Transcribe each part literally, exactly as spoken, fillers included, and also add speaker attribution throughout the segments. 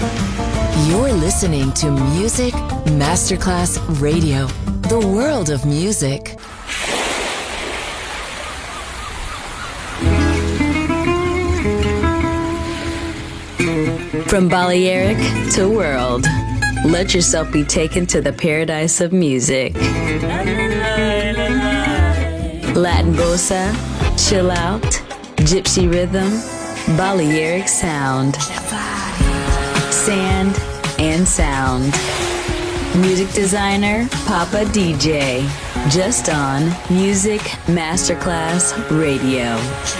Speaker 1: You're listening to Music Masterclass Radio, the world of music. From Balearic to world, let yourself be taken to the paradise of music. Latin bossa, chill out, gypsy rhythm, Balearic sound, sand and sound. Music designer, Papa D J, just on Music Masterclass Radio.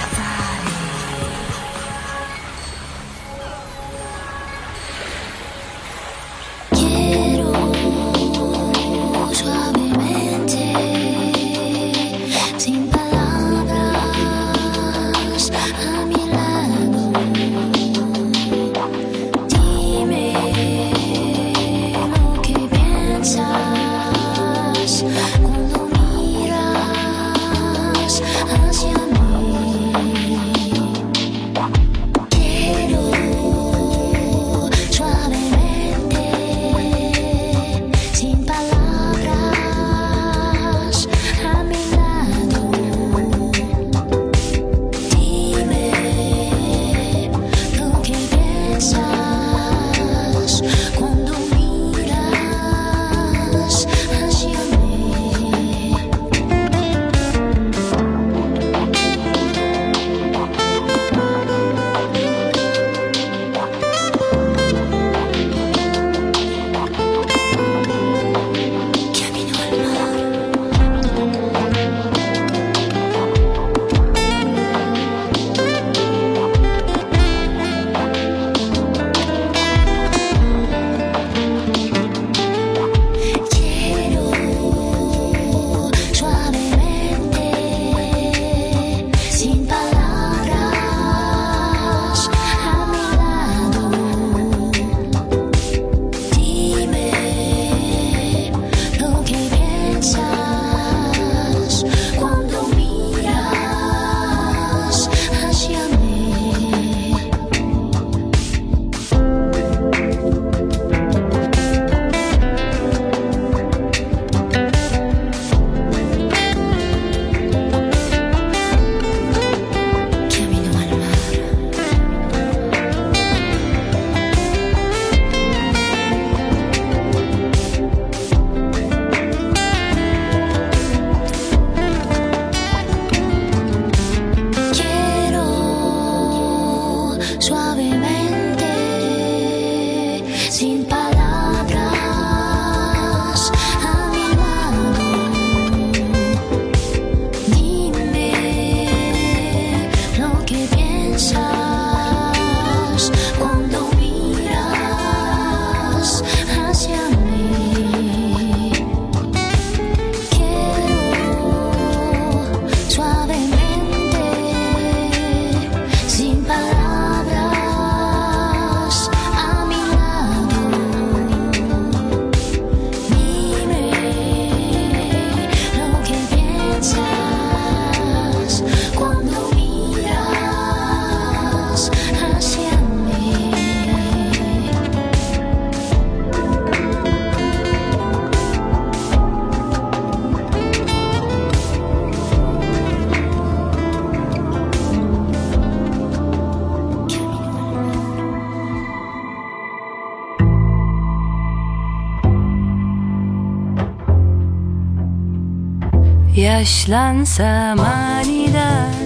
Speaker 2: Yaşlansam aniden,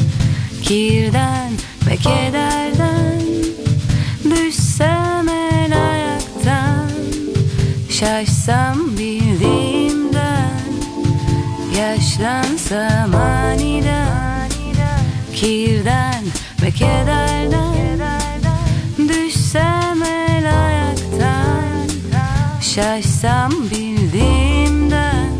Speaker 2: kirden ve kederden, düşsem el ayaktan, şaşsam bildiğimden. Yaşlansam aniden, kirden ve kederden, düşsem el ayaktan, şaşsam bildiğimden.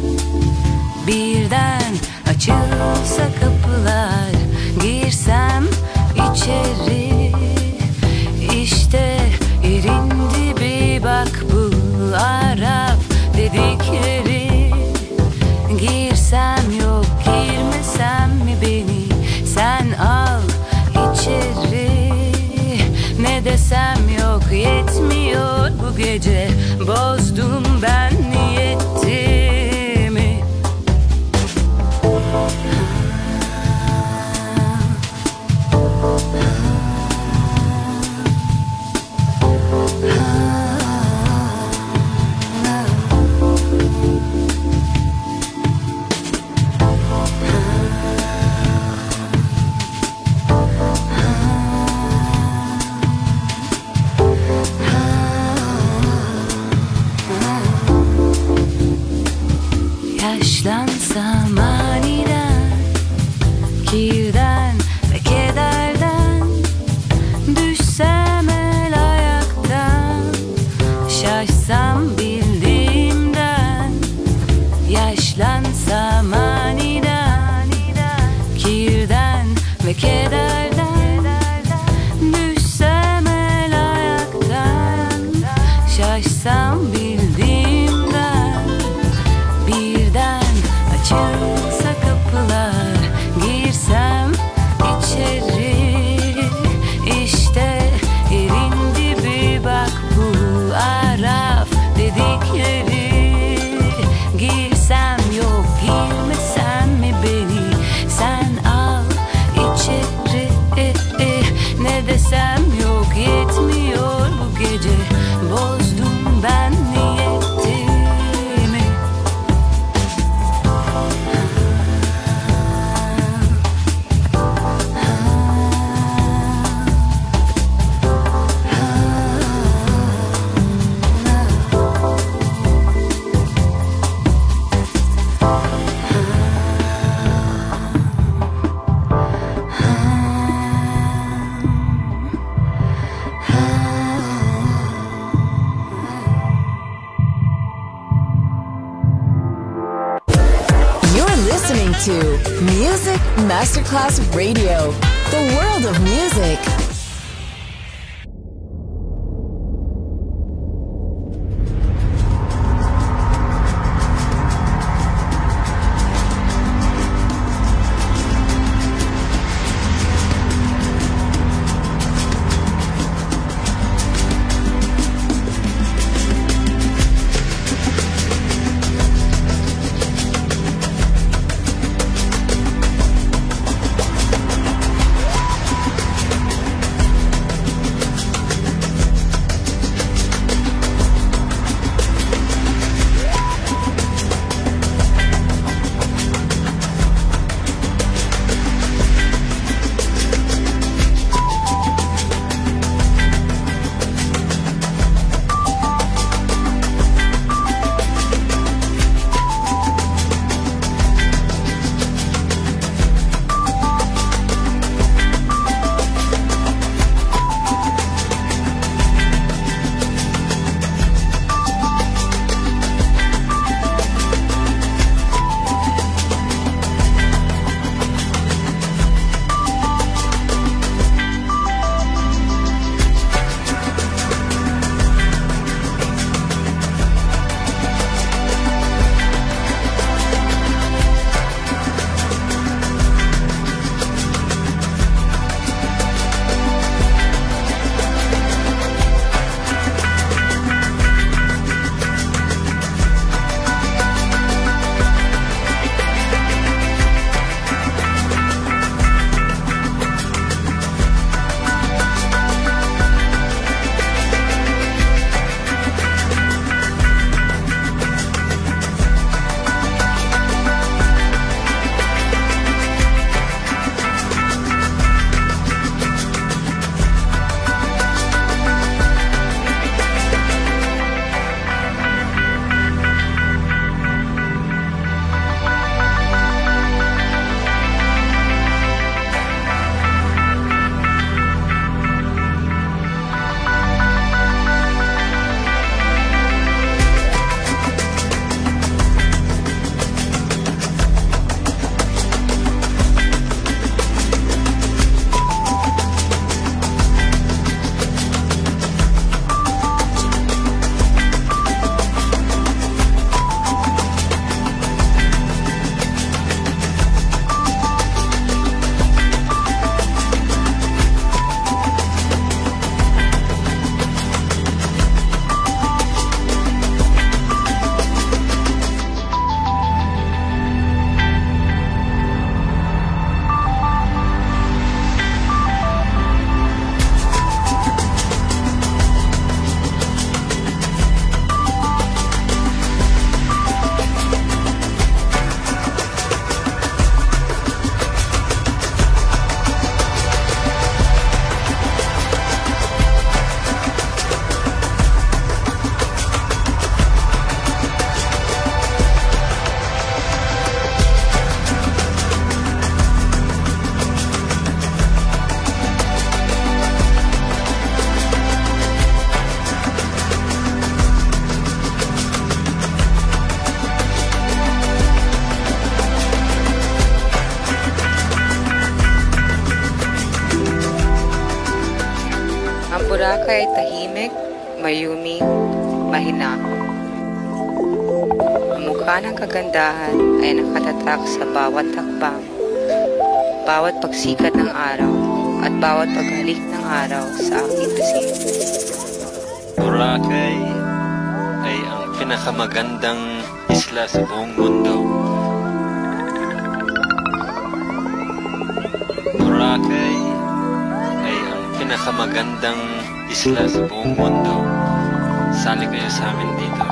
Speaker 2: Birden açılsa kapılar, girsem içeri, işte yerin dibi, bak bu Arap dedikleri. Girsem yok, girmesem mi beni sen al içeri, ne desem yok yetmiyor bu gece. Bozdum ben niyetimi. Yaşlansam aniden, kirden ve kederden, düşsem el ayaktan, şaşsam bildiğimden. Yaşlansam aniden, kirden ve kederden, düşsem el ayaktan, şaşsam bildiğimden. Birden açılsa kapılar, girsem içeri. İşte yerin dibi, bak bu Araf dedikleri. Girsem yok, girmesem mi beni sen al içeri. Ne desem yok, yetmiyor bu gece. Bozdum ben niyetimi.
Speaker 3: To Music Masterclass Radio, the world of music.
Speaker 4: mayuming, mahinahon. Ang mukha ng kagandahan ay nakatatak sa bawat takbang, bawat pagsikat ng araw, at bawat paghalik ng araw sa aking pisngi.
Speaker 5: Boracay ay ang pinakamagandang isla sa buong mundo. Boracay ay ang pinakamagandang isla sa buong mundo. Sali kayo sa amin dito.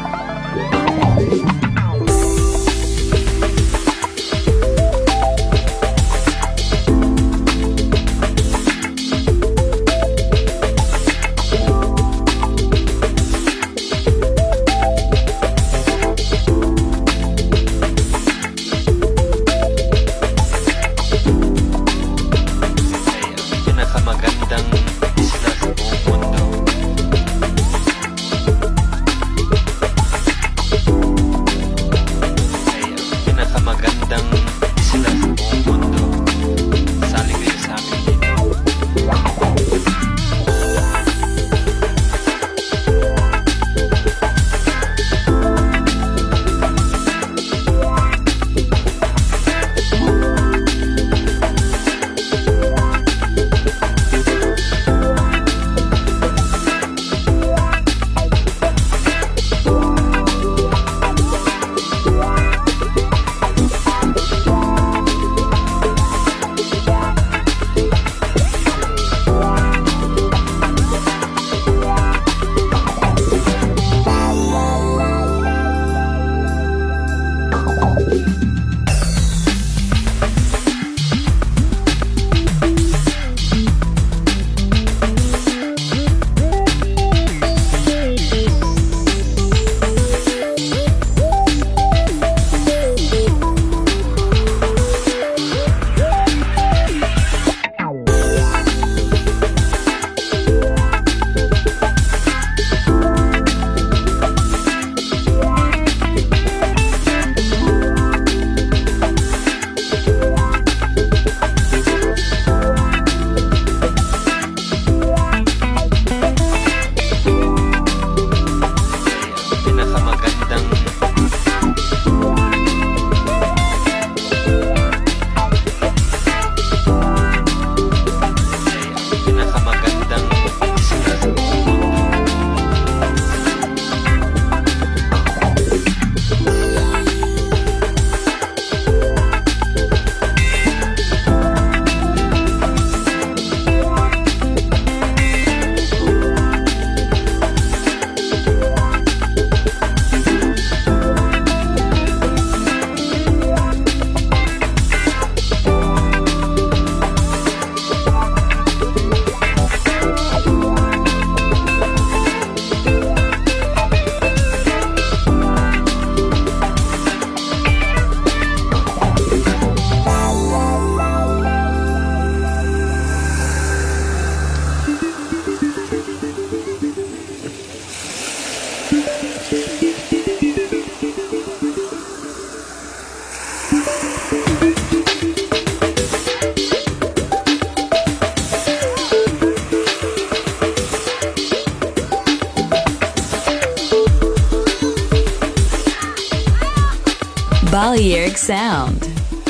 Speaker 1: Balearic Sound.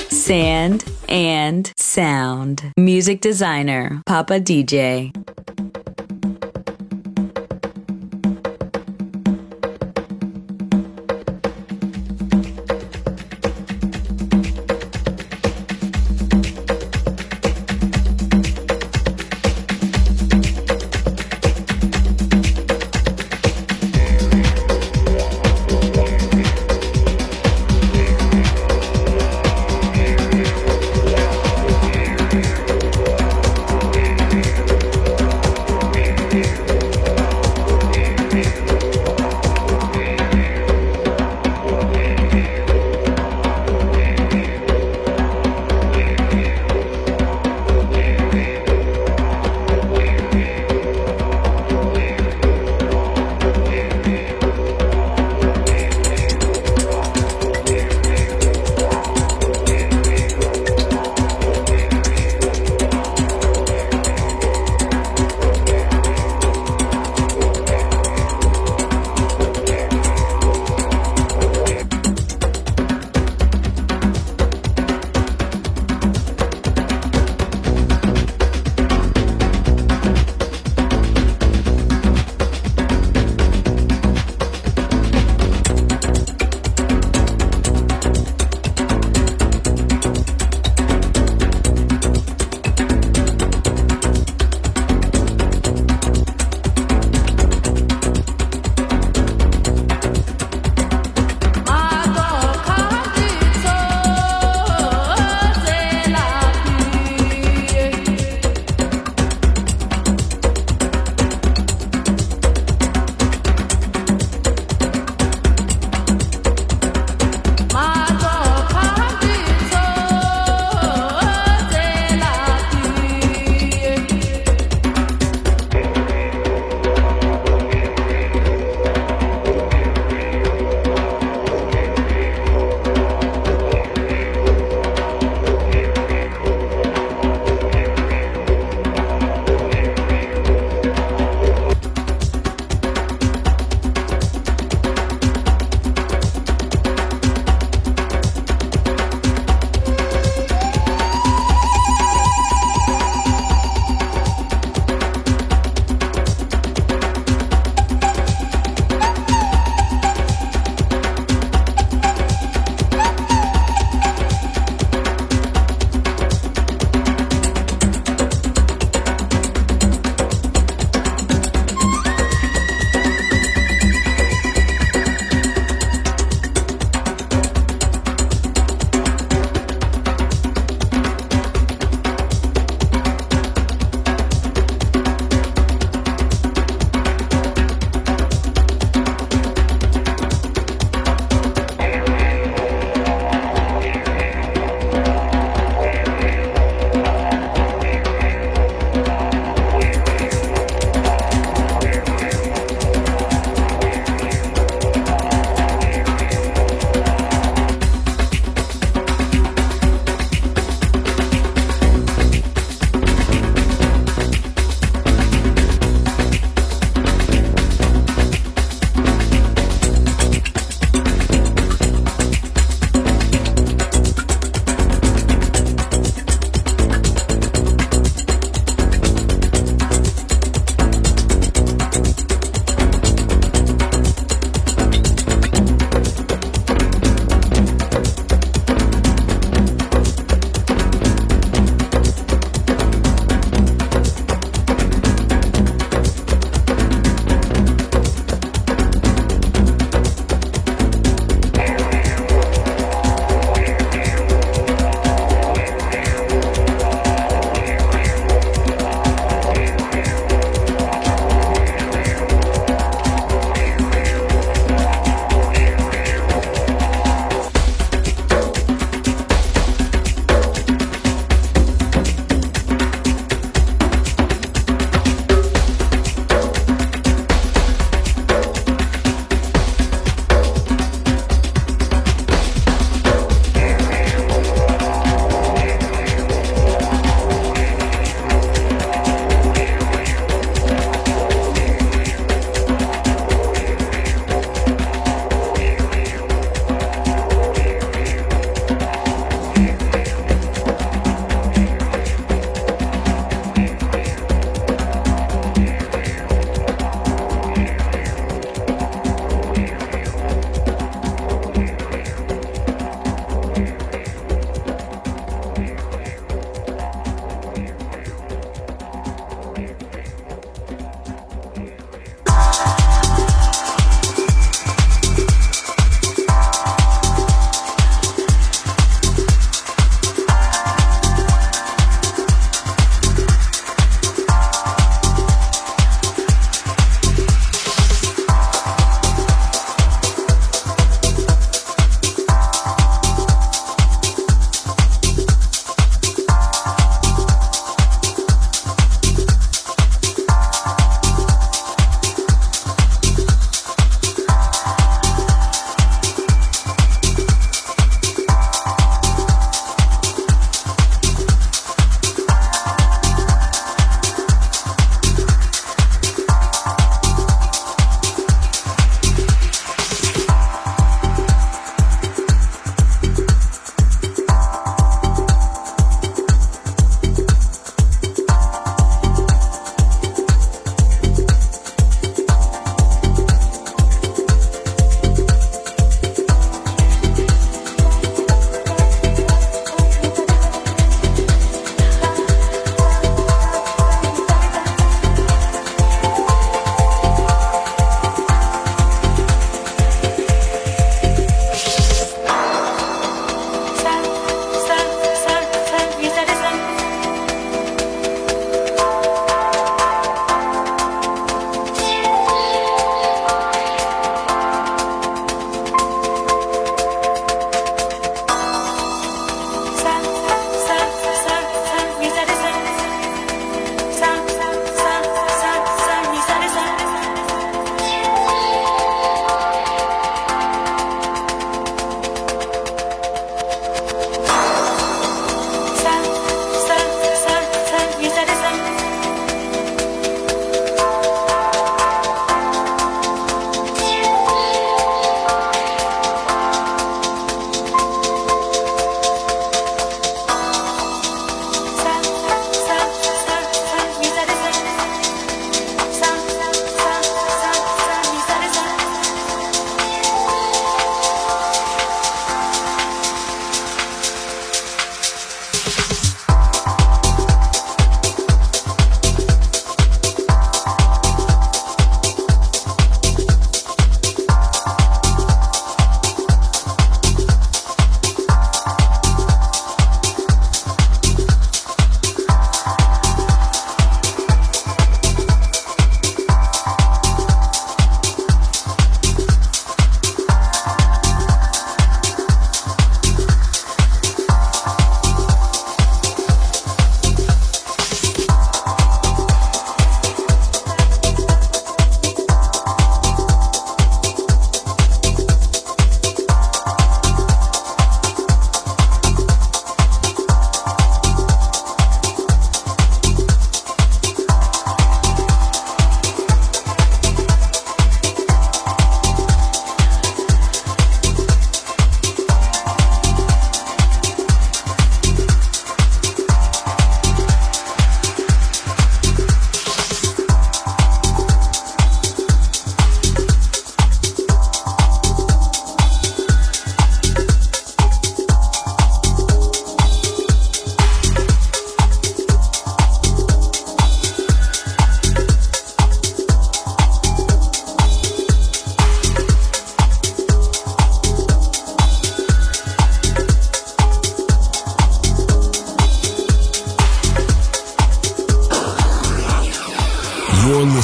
Speaker 1: Sand and Sound. Music designer, Papa D J.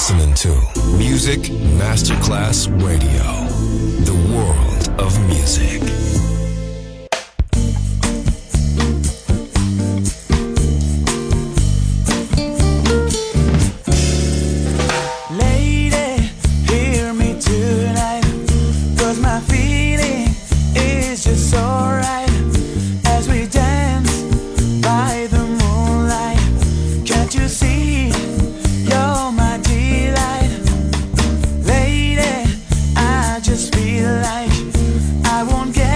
Speaker 6: listening to Music Masterclass Radio, the world of music.
Speaker 7: Lady, hear me tonight, 'cause my feeling is just so right as we dance by the moonlight. Can't you see? You're my delight. Lady, I just feel like I won't get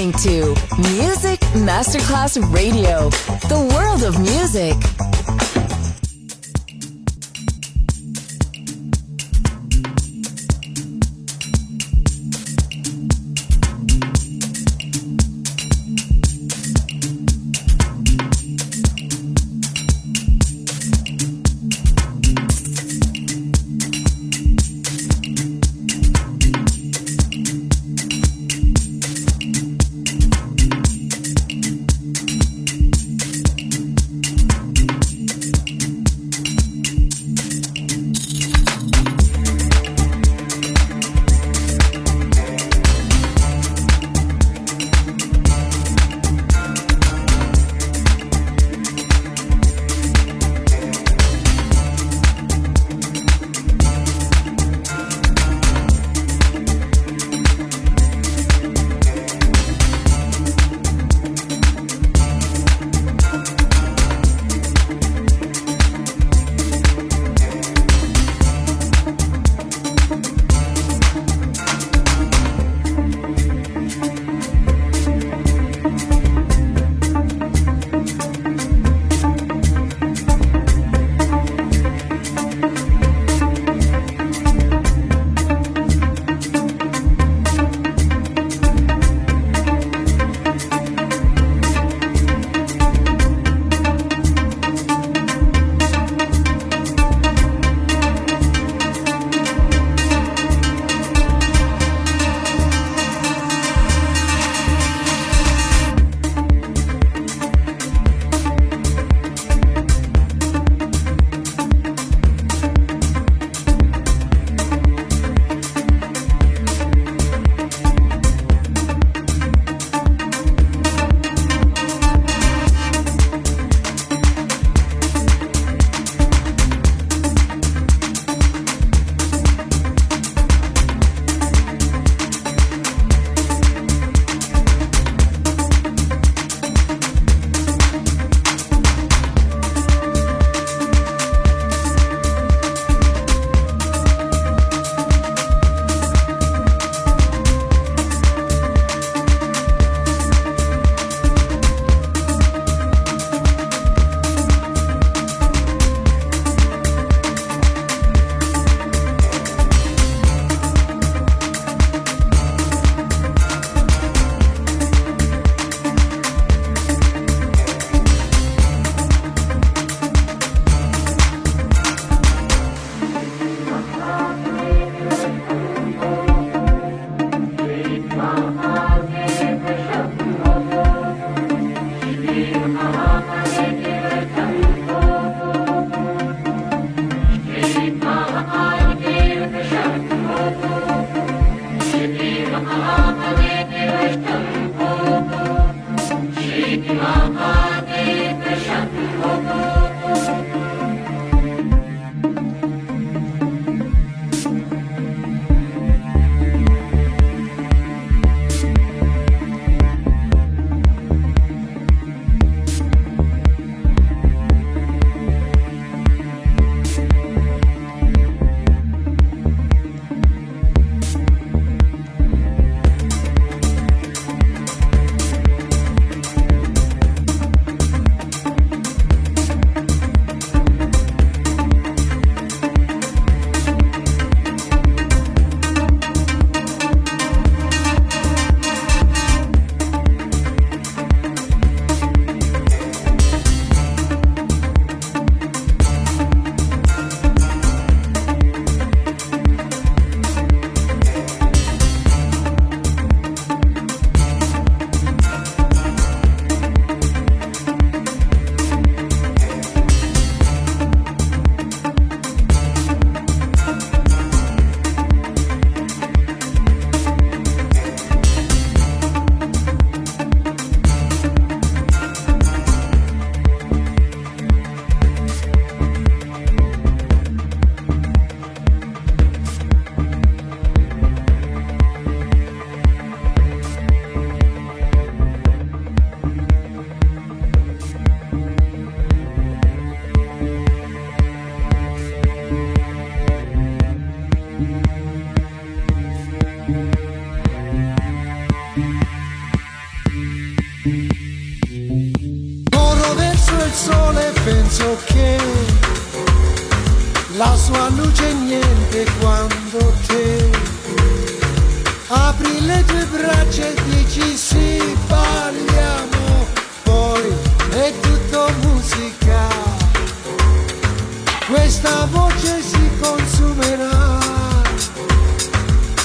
Speaker 3: listening to Music Masterclass Radio, the world of music.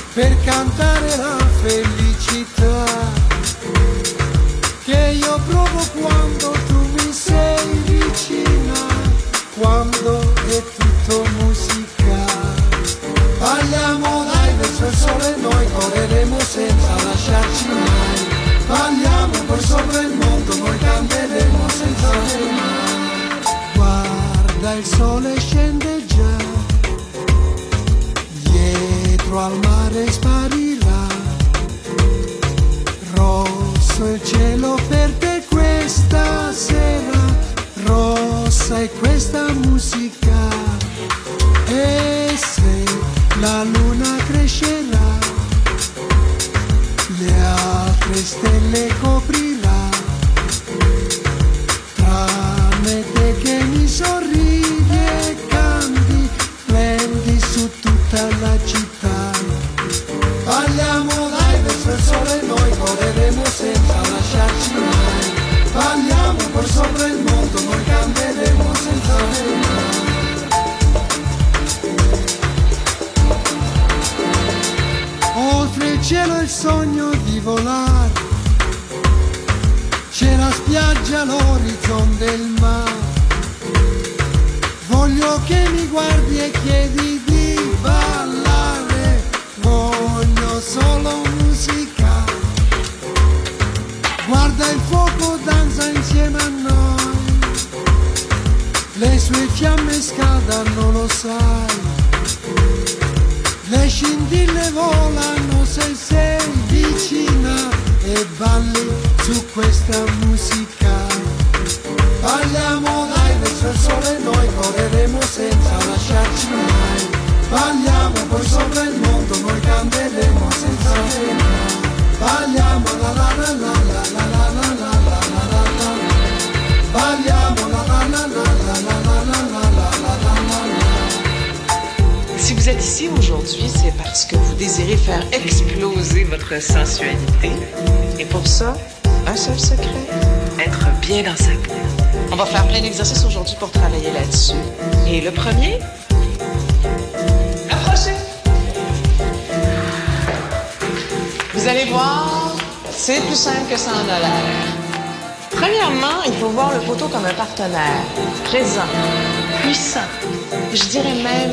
Speaker 8: per cantare la felicità che io provo quando tu mi sei vicina, quando è tutto musica. Balliamo dai verso il sole, noi correremo senza lasciarci mai. Balliamo poi sopra il mondo, noi canteremo senza fermare. Guarda il sole scende già, dietro al mare sparirà. Rosso il cielo per te questa sera, rossa è questa musica. E se la luna crescerà, le altre stelle coprirà, tranne te che mi sorridi e canti, prendi su tutta la città. Balliamo dai verso il sole, noi correremo senza lasciarci mai. Balliamo poi sopra il mondo, noi canteremo senza fermare. Oltre il cielo il sogno di volare, c'è la spiaggia, l'orizzonte del mare. Voglio che mi guardi e chiedi di ballare, voglio solo musica. Guarda il fuoco, danza insieme a noi, le sue fiamme scaldano, lo sai. Le scintille volano se sei vicina e balli su questa musica. Balliamo dai verso il sole, noi correremo senza lasciarci mai. Balliamo poi sopra il mondo, noi canteremo senza fermare. Balliamo la la la la la la la la la la la la la. Balliamo la la la la la la la la la la la la la.
Speaker 9: Si vous êtes ici aujourd'hui, c'est parce que vous désirez faire exploser votre sensualité. Et pour ça, un seul secret, être bien dans sa peau. On va faire plein d'exercices aujourd'hui pour travailler là-dessus. Et le premier, approchez. Vous allez voir, c'est plus simple que ça en a l'air. Premièrement, il faut voir le poteau comme un partenaire, présent, puissant, je dirais même...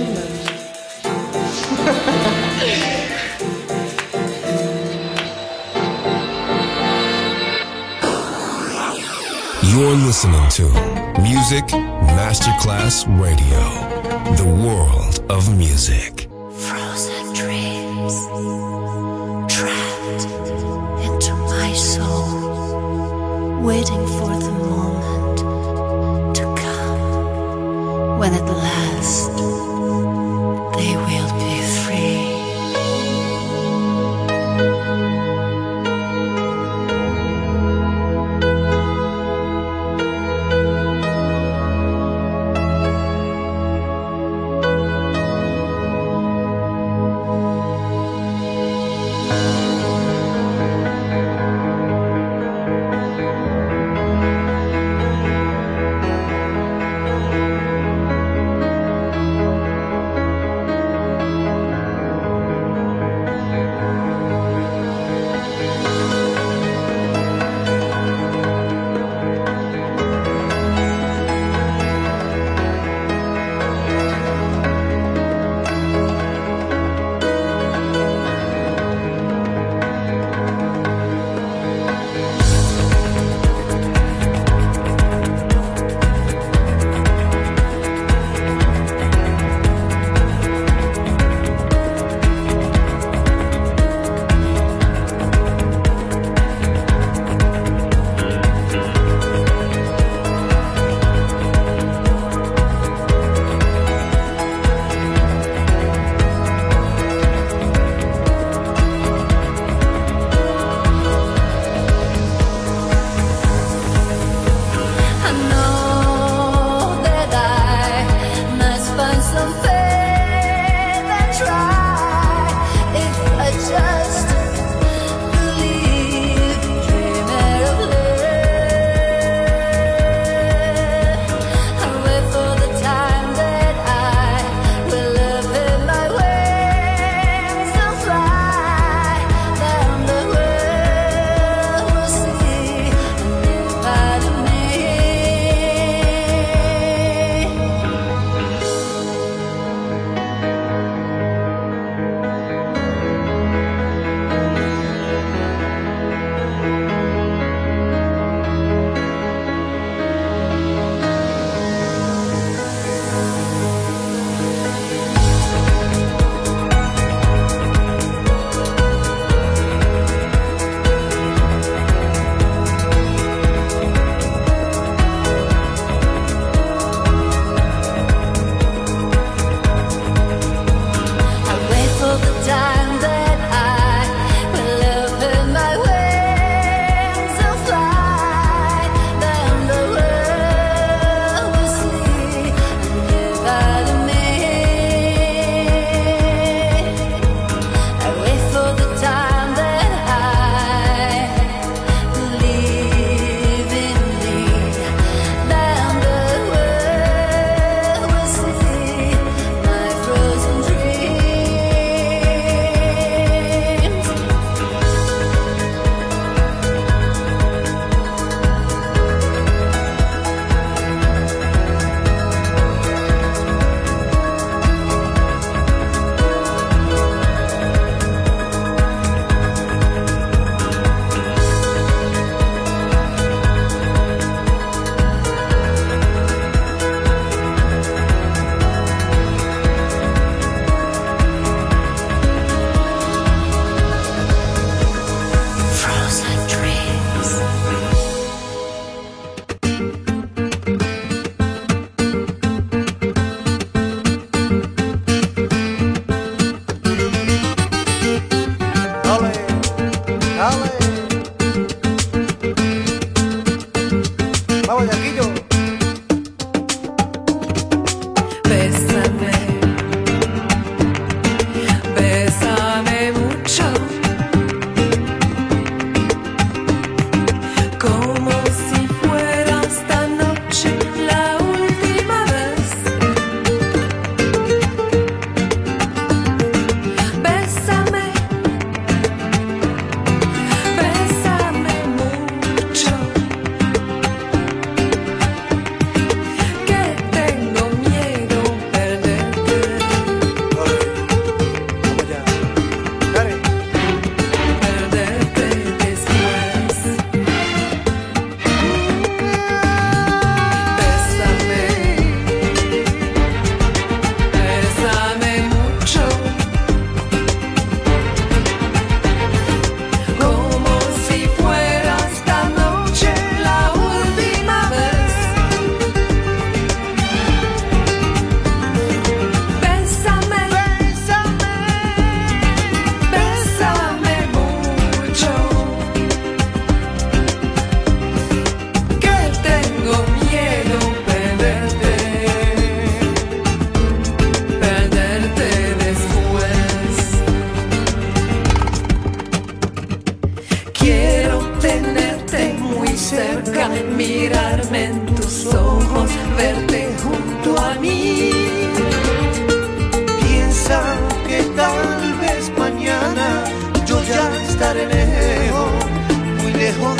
Speaker 6: You're listening to Music Masterclass Radio, the world of music.
Speaker 10: Frozen dreams trapped into my soul, waiting for the moment to come when at last they will be free.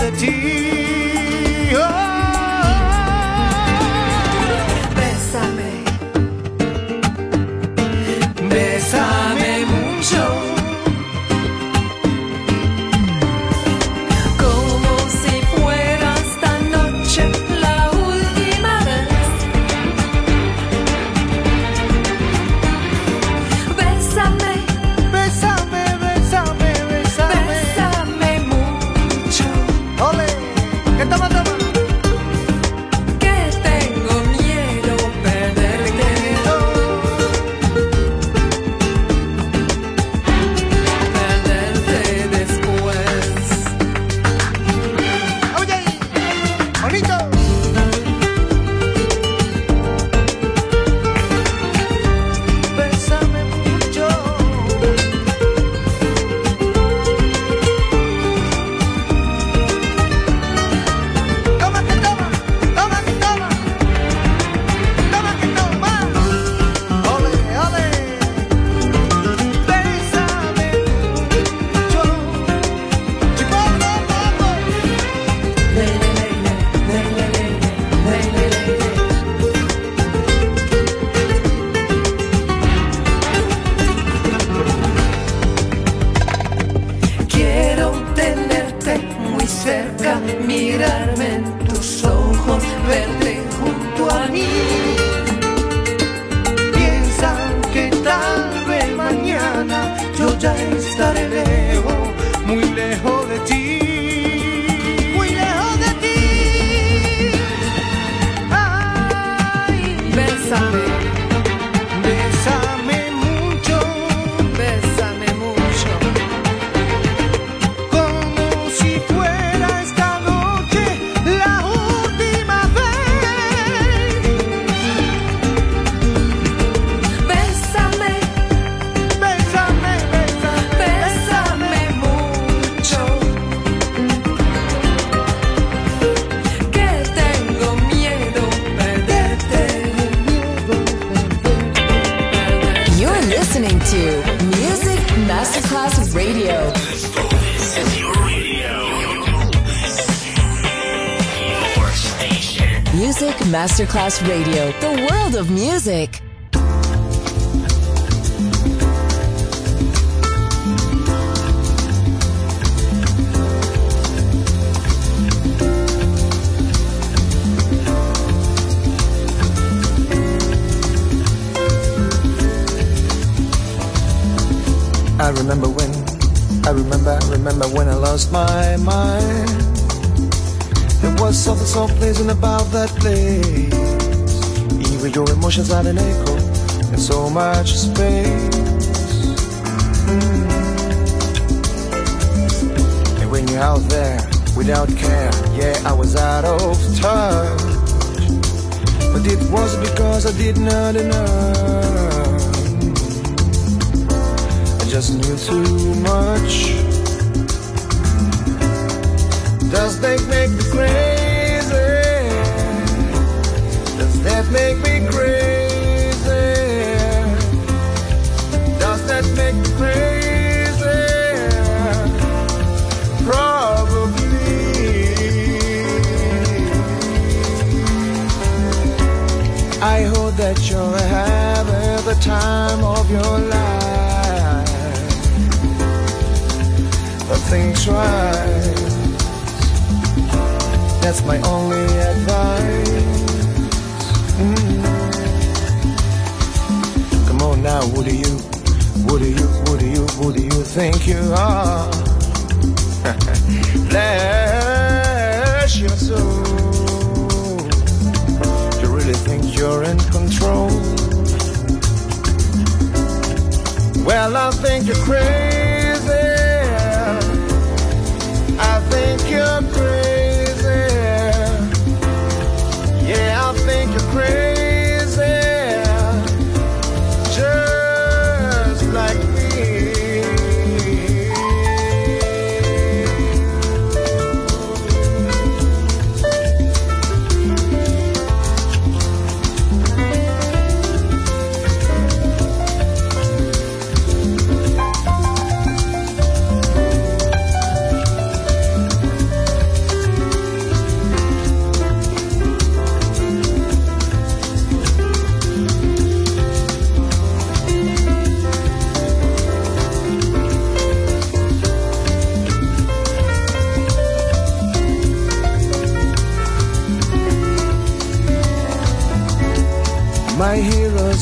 Speaker 8: de ti. Oh, bésame, bésame mucho, como si fuera esta noche la última vez. Bésame, bésame, bésame, bésame, bésame mucho. Ole, ¿qué toma, toma? Que tengo miedo perderte. Perderte después. Oye, bonito. Bésame mucho. Toma que toma, toma que toma, toma que toma. Ole, ole. Bésame mucho. Chipotle, popo. Le, le, le, le, le, le, le, le, le, le. Quiero tenerte muy cerca, mirarme en tus ojos, verte junto a mí. Piensa que tal vez mañana yo ya estaré lejos, muy lejos de ti, muy lejos de ti. Ay, bésame, bésame mucho, bésame mucho. Como si fuera esta noche la última vez. Bésame, bésame, bésame, bésame mucho. Que tengo miedo perderte.
Speaker 3: You're listening to Music Masterclass Radio. Music Masterclass Radio, the world of music.
Speaker 11: I remember when, I remember, I remember when I lost my mind. There was something so pleasant about that place. Even your emotions had an echo in so much space. Mm. And when you're out there without care, yeah, I was out of touch. But it was because I did not enough. I just knew too much. Does that make me crazy? Does that make me crazy? Does that make me crazy? Probably. I hope that you're having the time of your life. But things right. That's my only advice. Mm. Come on now, who do you, who do you, who do you, who do you think you are? Bless your soul. You really think you're in control? Well, I think you're crazy. I think you're crazy. Yeah, I think you're crazy, just like me.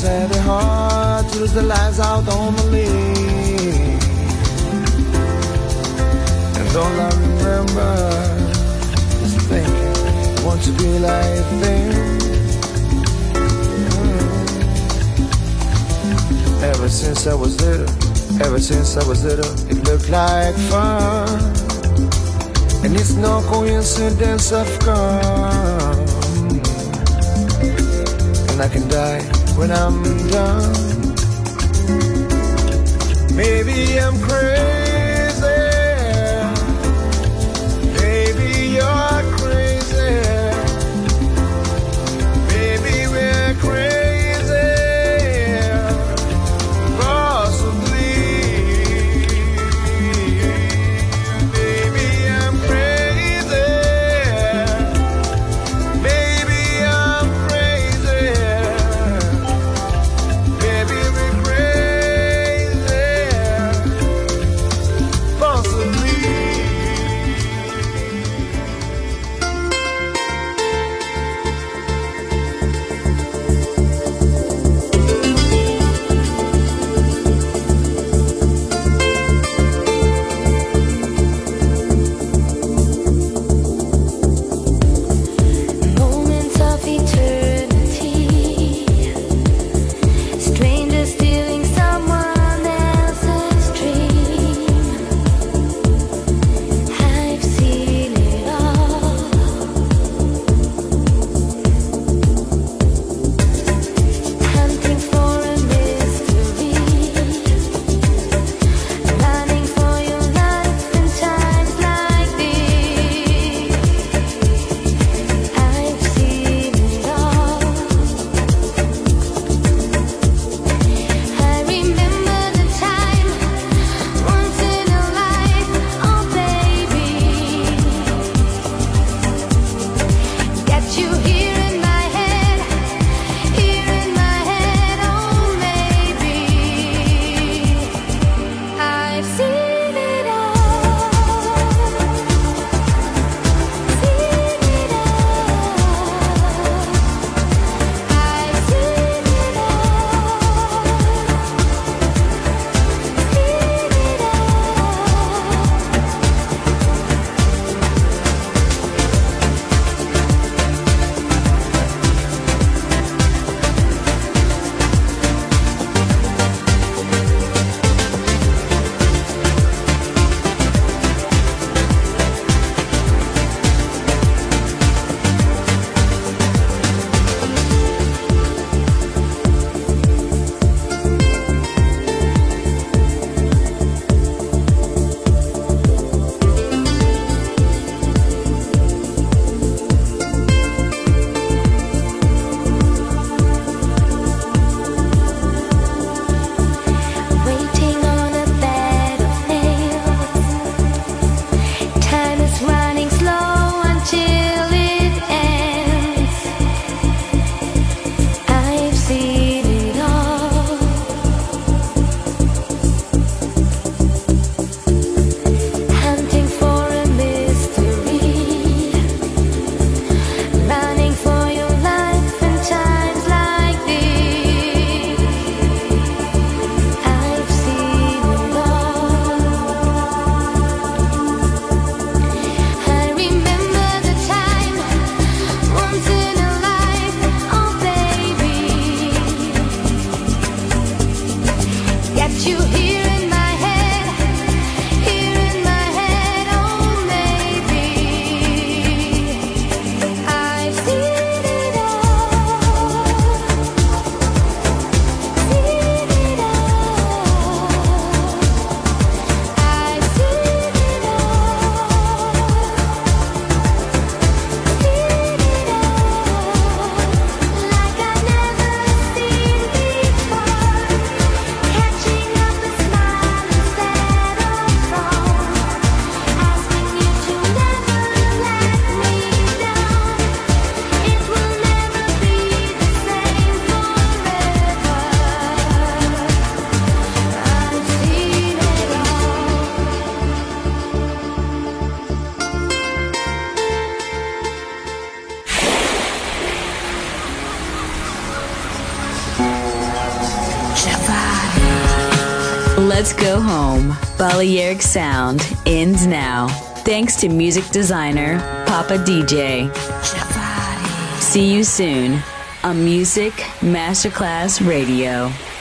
Speaker 11: sad and hard to lose the lights out on the lake. And all I remember is thinking, I want to be like them. Mm. Ever since I was little, ever since I was little, it looked like fun. And it's no coincidence I've come. And I can die when I'm done. Maybe I'm crazy. Maybe you're crazy. Maybe we're crazy. Possibly. Maybe I'm crazy. Maybe I'm crazy. Maybe we're crazy.
Speaker 1: Let's Go Home, Balearic Sound, ends now. Thanks to music designer Papa D J. See you soon on Music Masterclass Radio.